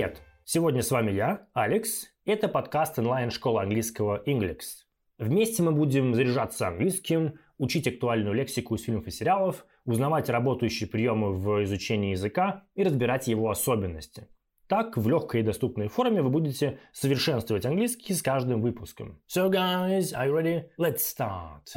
Привет! Сегодня с вами я, Алекс. Это подкаст онлайн-школы английского Inglix. Вместе мы будем заряжаться английским, учить актуальную лексику из фильмов и сериалов, узнавать работающие приемы в изучении языка и разбирать его особенности. Так, в легкой и доступной форме вы будете совершенствовать английский с каждым выпуском. So guys, are you ready? Let's start!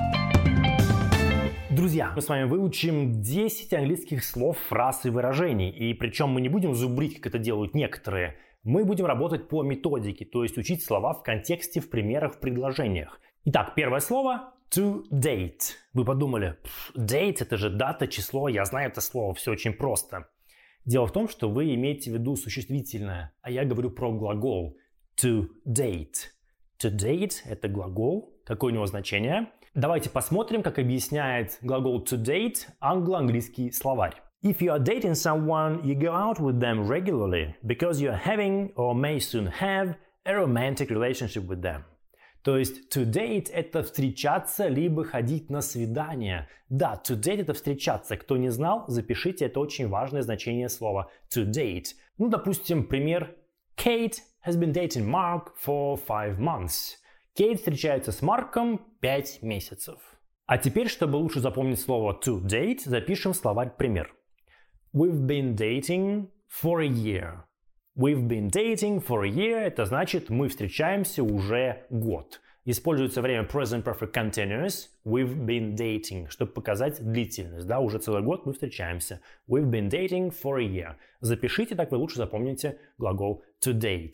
Друзья, мы с вами выучим 10 английских слов, фраз и выражений. И причем мы не будем зубрить, как это делают некоторые. Мы будем работать по методике, то есть учить слова в контексте, в примерах, в предложениях. Итак, первое слово to date. Вы подумали, date это же дата, число, я знаю это слово, все очень просто. Дело в том, что вы имеете в виду существительное, а я говорю про глагол to date. To date это глагол, какое у него значение? Давайте посмотрим, как объясняет глагол to date англо-английский словарь. If you are dating someone, you go out with them regularly because you are having or may soon have a romantic relationship with them. То есть to date это встречаться либо ходить на свидание. Да, to date это встречаться. Кто не знал, запишите, это очень важное значение слова to date. Ну, допустим, пример. Kate has been dating Mark for 5 months. Кейт встречается с Марком 5 месяцев. А теперь, чтобы лучше запомнить слово to date, запишем в словарь пример. We've been dating for a year. We've been dating for a year. Это значит, мы встречаемся уже год. Используется время present perfect continuous. We've been dating, чтобы показать длительность. Да, уже целый год мы встречаемся. We've been dating for a year. Запишите, так вы лучше запомните глагол to date.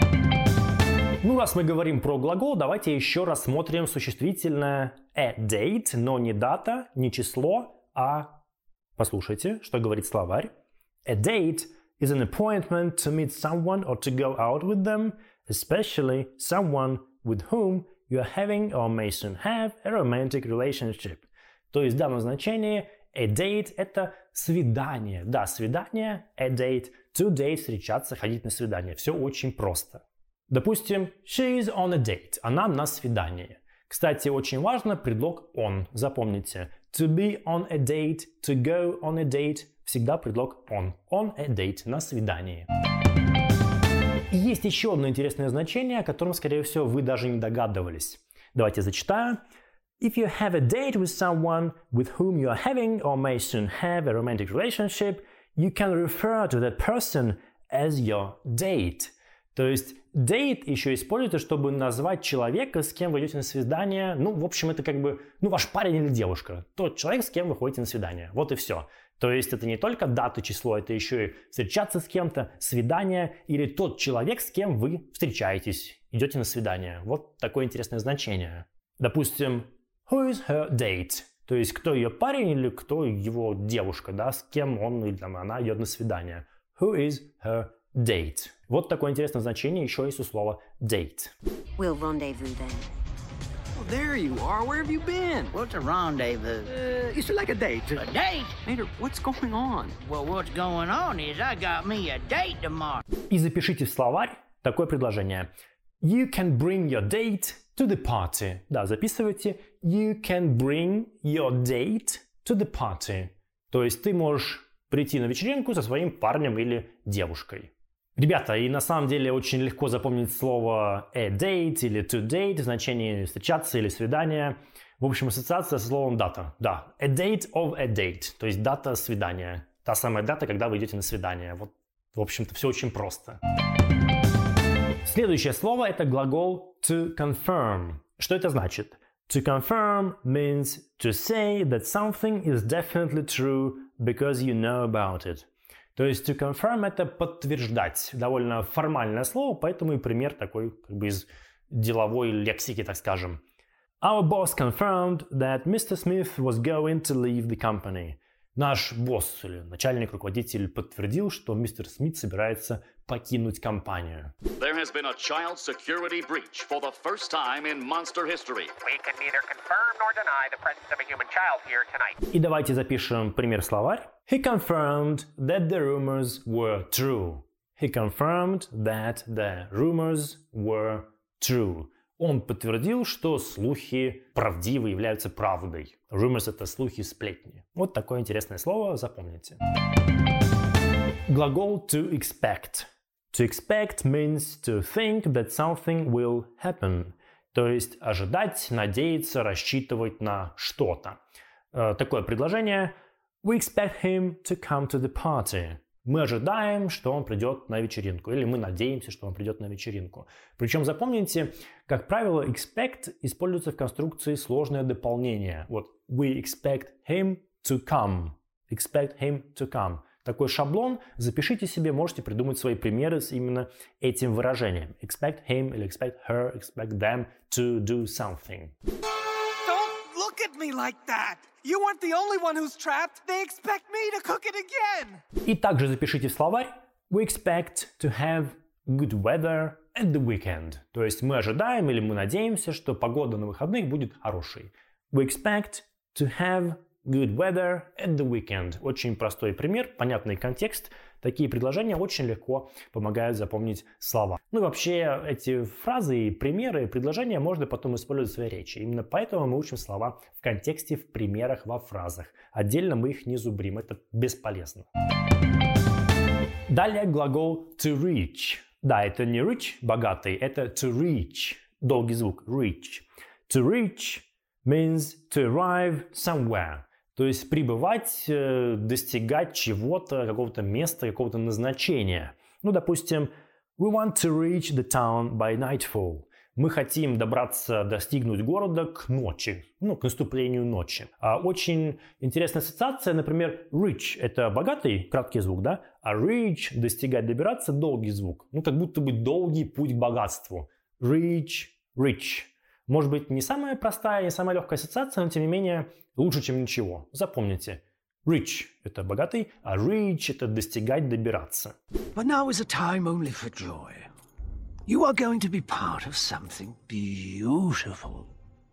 Ну, раз мы говорим про глагол, давайте еще рассмотрим существительное a date, но не дата, не число, а послушайте, что говорит словарь. A date is an appointment to meet someone or to go out with them, especially someone with whom you are having or may soon have a romantic relationship. То есть в данном значении a date – это свидание. Да, свидание, a date, to date – встречаться, ходить на свидание. Все очень просто. Допустим, she is on a date. Она на свидании. Кстати, очень важно предлог on. Запомните. To be on a date, to go on a date. Всегда предлог on. On a date. На свидании. И есть еще одно интересное значение, о котором, скорее всего, вы даже не догадывались. Давайте зачитаю. If you have a date with someone with whom you are having or may soon have a romantic relationship, you can refer to that person as your date. То есть date еще используется, чтобы назвать человека, с кем вы идете на свидание. Ну, в общем, это как бы, ваш парень или девушка. Тот человек, с кем вы ходите на свидание. Вот и все. То есть это не только дата, число, это еще и встречаться с кем-то, свидание или тот человек, с кем вы встречаетесь, идете на свидание. Вот такое интересное значение. Допустим, who is her date? То есть кто ее парень или кто его девушка, да, с кем он или она идет на свидание. Who is her date. Вот такое интересное значение еще есть у слова date. We'll rendezvous then. Well, there you are. Where have you been? What's a rendezvous? You said like a date. A date? Mater, what's going on? Well, what's going on is I got me a date tomorrow. И запишите в словарь такое предложение. You can bring your date to the party. Да, записывайте. You can bring your date to the party. То есть ты можешь прийти на вечеринку со своим парнем или девушкой. Ребята, и на самом деле очень легко запомнить слово a date или to date в значении встречаться или свидания. В общем, ассоциация со словом дата. Да, a date of a date, то есть дата свидания. Та самая дата, когда вы идете на свидание. Вот, в общем-то, все очень просто. Следующее слово – это глагол to confirm. Что это значит? To confirm means to say that something is definitely true because you know about it. То есть to confirm – это подтверждать. Довольно формальное слово, поэтому и пример такой как бы из деловой лексики, так скажем. Our boss confirmed that Mr. Smith was going to leave the company. Наш босс или начальник, руководитель подтвердил, что мистер Смит собирается покинуть компанию. There has been a child security breach for the first time in Monster history. We can neither confirm nor deny the presence of a human child here tonight. И давайте запишем пример словарь. He confirmed that the rumors were true. He confirmed that the rumors were true. Он подтвердил, что слухи правдивы, являются правдой. Rumors – это слухи, сплетни. Вот такое интересное слово, запомните. Глагол to expect. To expect means to think that something will happen. То есть ожидать, надеяться, рассчитывать на что-то. Такое предложение. We expect him to come to the party. Мы ожидаем, что он придет на вечеринку. Или мы надеемся, что он придет на вечеринку. Причем запомните, как правило, expect используется в конструкции сложное дополнение. Вот we expect him to come. Expect him to come. Такой шаблон. Запишите себе, можете придумать свои примеры с именно этим выражением. Expect him или expect her, expect them to do something. Don't look at me like that! You weren't the only one who's trapped. They expect me to cook it again. И также запишите в словарь we expect to have good weather at the weekend. То есть мы ожидаем или мы надеемся, что погода на выходных будет хорошей. We expect to have good weather at the weekend. Очень простой пример, понятный контекст. Такие предложения очень легко помогают запомнить слова. Ну и вообще эти фразы и примеры, предложения можно потом использовать в своей речи. Именно поэтому мы учим слова в контексте, в примерах, во фразах. Отдельно мы их не зубрим, это бесполезно. Далее глагол to reach. Да, это не rich, богатый, это to reach. Долгий звук, reach. To reach means to arrive somewhere. То есть прибывать, достигать чего-то, какого-то места, какого-то назначения. Ну, допустим, we want to reach the town by nightfall. Мы хотим достигнуть города к ночи, к наступлению ночи. Очень интересная ассоциация, например, rich – это богатый, краткий звук, да? А reach – достигать, добираться – долгий звук. Как будто бы долгий путь к богатству. Reach, rich. Может быть, не самая простая, не самая легкая ассоциация, но тем не менее лучше, чем ничего. Запомните. Rich – это богатый, а reach – это достигать, добираться. But now is a time only for joy. You are going to be part of something beautiful.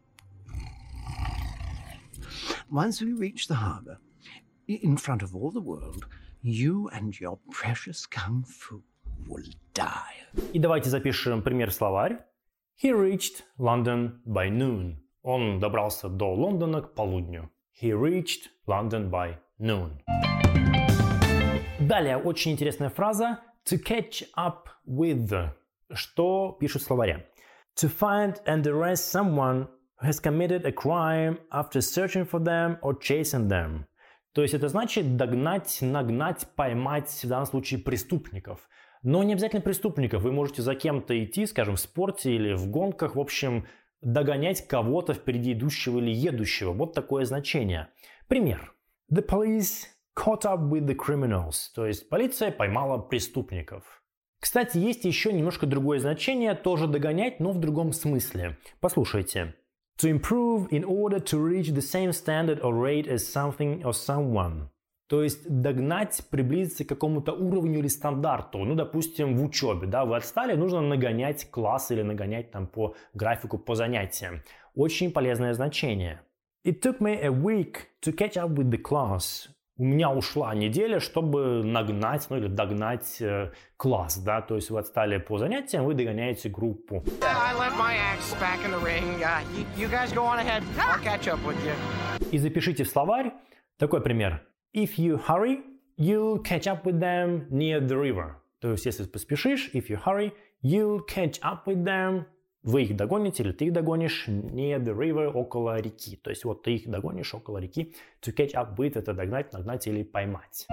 Once we reach the harbor, in front of all the world, you and your precious kung fu will die. И давайте запишем пример в словарь. He reached London by noon. Он добрался до Лондона к полудню. He reached London by noon. Далее очень интересная фраза to catch up with. Что пишут в словаре? To find and arrest someone who has committed a crime after searching for them or chasing them. То есть это значит догнать, нагнать, поймать, в данном случае преступников. Но не обязательно преступников. Вы можете за кем-то идти, скажем, в спорте или в гонках, в общем, догонять кого-то впереди идущего или едущего. Вот такое значение. Пример. The police caught up with the criminals. То есть полиция поймала преступников. Кстати, есть еще немножко другое значение, тоже догонять, но в другом смысле. Послушайте. To improve in order to reach the same standard or rate as something or someone. То есть догнать, приблизиться к какому-то уровню или стандарту. Допустим, в учебе, да, вы отстали, нужно нагонять класс или нагонять там по графику, по занятиям. Очень полезное значение. It took me a week to catch up with the class. У меня ушла неделя, чтобы нагнать, или догнать класс, да, то есть вы отстали по занятиям, вы догоняете группу. I left my axe back in the ring. You guys go on ahead. I'll catch up with you. И запишите в словарь такой пример. If you hurry, you'll catch up with them near the river. То есть, если поспешишь, if you hurry, you'll catch up with them. Вы их догоните или ты их догонишь near the river, около реки. То есть, вот ты их догонишь около реки. To catch up with – это догнать, нагнать или поймать.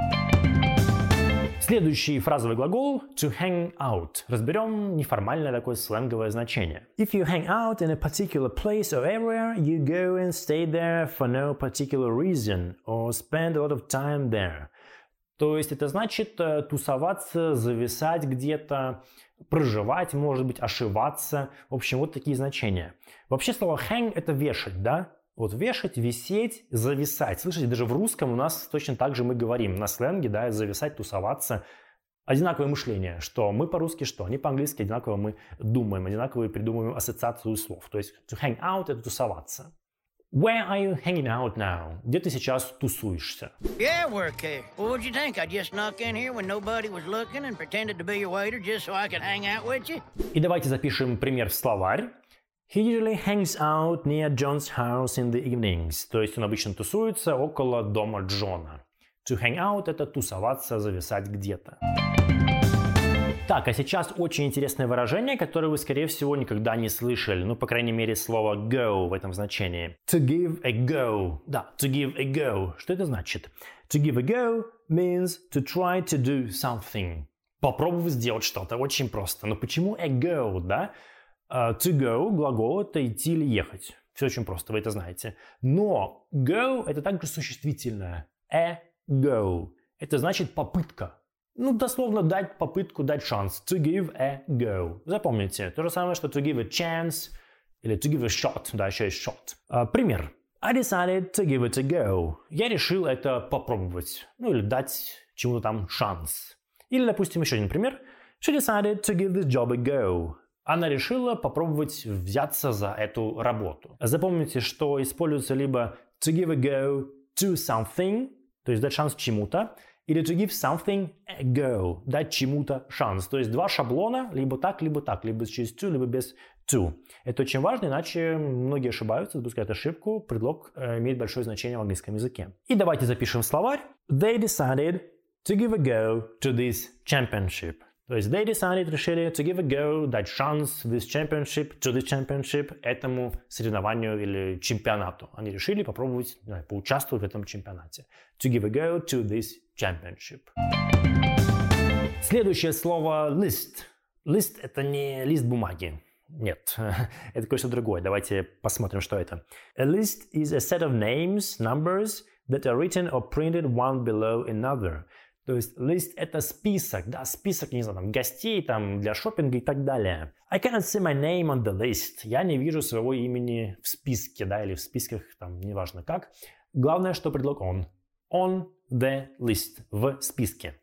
Следующий фразовый глагол to hang out. Разберем неформальное такое сленговое значение. If you hang out in a particular place or area, you go and stay there for no particular reason or spend a lot of time there. То есть это значит тусоваться, зависать где-то, проживать, может быть, ошиваться. В общем, вот такие значения. Вообще слово hang – это вешать, да? Вот вешать, висеть, зависать. Слышите, даже в русском у нас точно так же мы говорим. На сленге, да, зависать, тусоваться. Одинаковое мышление. Что мы по-русски, что они по-английски. Одинаково мы думаем, одинаково придумываем ассоциацию слов. То есть to hang out – это тусоваться. Where are you hanging out now? Где ты сейчас тусуешься? Yeah, work here. Well, what'd you think? I just snuck in here when nobody was looking and pretended to be your waiter just so I could hang out with you? И давайте запишем пример в словарь. He usually hangs out near John's house in the evenings. То есть он обычно тусуется около дома Джона. To hang out – это тусоваться, зависать где-то. Так, а сейчас очень интересное выражение, которое вы, скорее всего, никогда не слышали. Ну, по крайней мере, слово go в этом значении. To give a go. Да, to give a go. Что это значит? To give a go means to try to do something. Попробовать сделать что-то. Очень просто. Но почему a go, да? To go, глагол, это идти или ехать. Все очень просто, вы это знаете. Но go это также существительное. A go. Это значит попытка. Ну, дословно дать попытку, дать шанс. To give a go. Запомните. То же самое, что to give a chance или to give a shot. Да, еще есть shot. Пример. I decided to give it a go. Я решил это попробовать. Ну, или дать чему-то там шанс. Или, допустим, еще один пример. She decided to give this job a go. Она решила попробовать взяться за эту работу. Запомните, что используется либо to give a go to something, то есть дать шанс чему-то, или to give something a go, дать чему-то шанс. То есть два шаблона, либо через to, либо без to. Это очень важно, иначе многие ошибаются, допускают ошибку, предлог имеет большое значение в английском языке. И давайте запишем в словарь. They decided to give a go to this championship. То есть they decided, решили to give a go, дать шанс to this championship, этому соревнованию или чемпионату. Они решили попробовать, поучаствовать в этом чемпионате. To give a go to this championship. Следующее слово list. List это не лист бумаги. Нет, это кое-что другое. Давайте посмотрим, что это. A list is a set of names, numbers that are written or printed one below another. То есть лист это список, да, список, не знаю, там, гостей там, для шопинга и так далее. I cannot see my name on the list. Я не вижу своего имени в списке, да, или в списках, там, неважно как. Главное, что предлог on. On the list. В списке.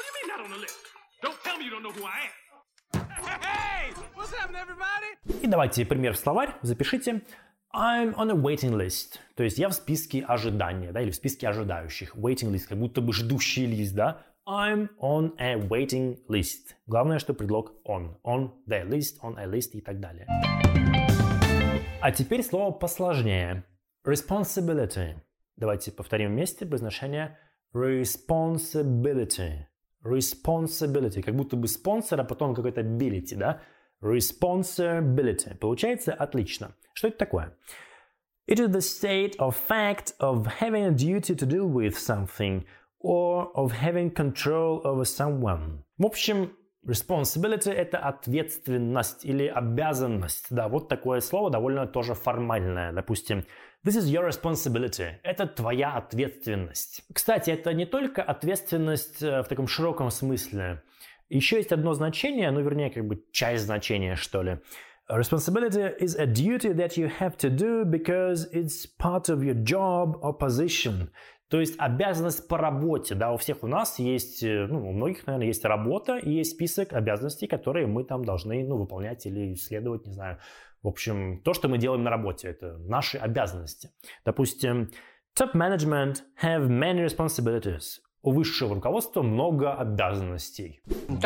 И давайте пример в словарь, запишите. I'm on a waiting list. То есть я в списке ожидания, да, или в списке ожидающих. Waiting list, как будто бы ждущий лист, да. I'm on a waiting list. Главное, что предлог on. On the list, on a list и так далее. А теперь слово посложнее. Responsibility. Давайте повторим вместе произношение responsibility. Responsibility. Как будто бы спонсор, а потом какой-то ability, да. Responsibility. Получается отлично. Что это такое? It is the state or fact of having a duty to deal with something or of having control over someone. В общем, responsibility – это ответственность или обязанность. Да, вот такое слово довольно тоже формальное. Допустим, this is your responsibility. Это твоя ответственность. Кстати, это не только ответственность в таком широком смысле. Еще есть одно значение, ну, вернее, как бы часть значения, что ли. Responsibility is a duty that you have to do because it's part of your job or position. То есть обязанность по работе. Да, у всех у нас есть, ну, у многих, наверное, есть работа и есть список обязанностей, которые мы там должны, ну, выполнять или исследовать, не знаю. В общем, то, что мы делаем на работе, это наши обязанности. Допустим, top management have many responsibilities. У высшего руководства много обязанностей.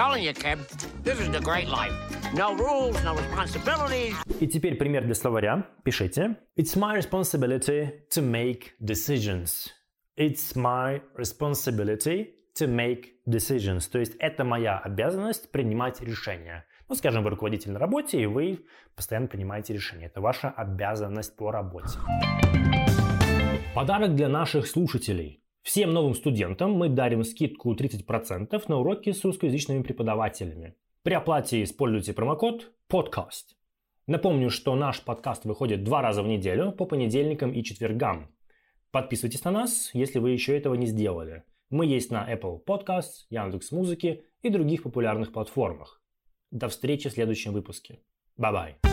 И теперь пример для словаря. Пишите. It's my responsibility to make decisions. It's my responsibility to make decisions. То есть это моя обязанность принимать решения. Ну, скажем, вы руководитель на работе, и вы постоянно принимаете решения. Это ваша обязанность по работе. Подарок для наших слушателей. Всем новым студентам мы дарим скидку 30% на уроки с русскоязычными преподавателями. При оплате используйте промокод PODCAST. Напомню, что наш подкаст выходит 2 раза в неделю по понедельникам и четвергам. Подписывайтесь на нас, если вы еще этого не сделали. Мы есть на Apple Podcasts, Яндекс.Музыке и других популярных платформах. До встречи в следующем выпуске. Bye-bye.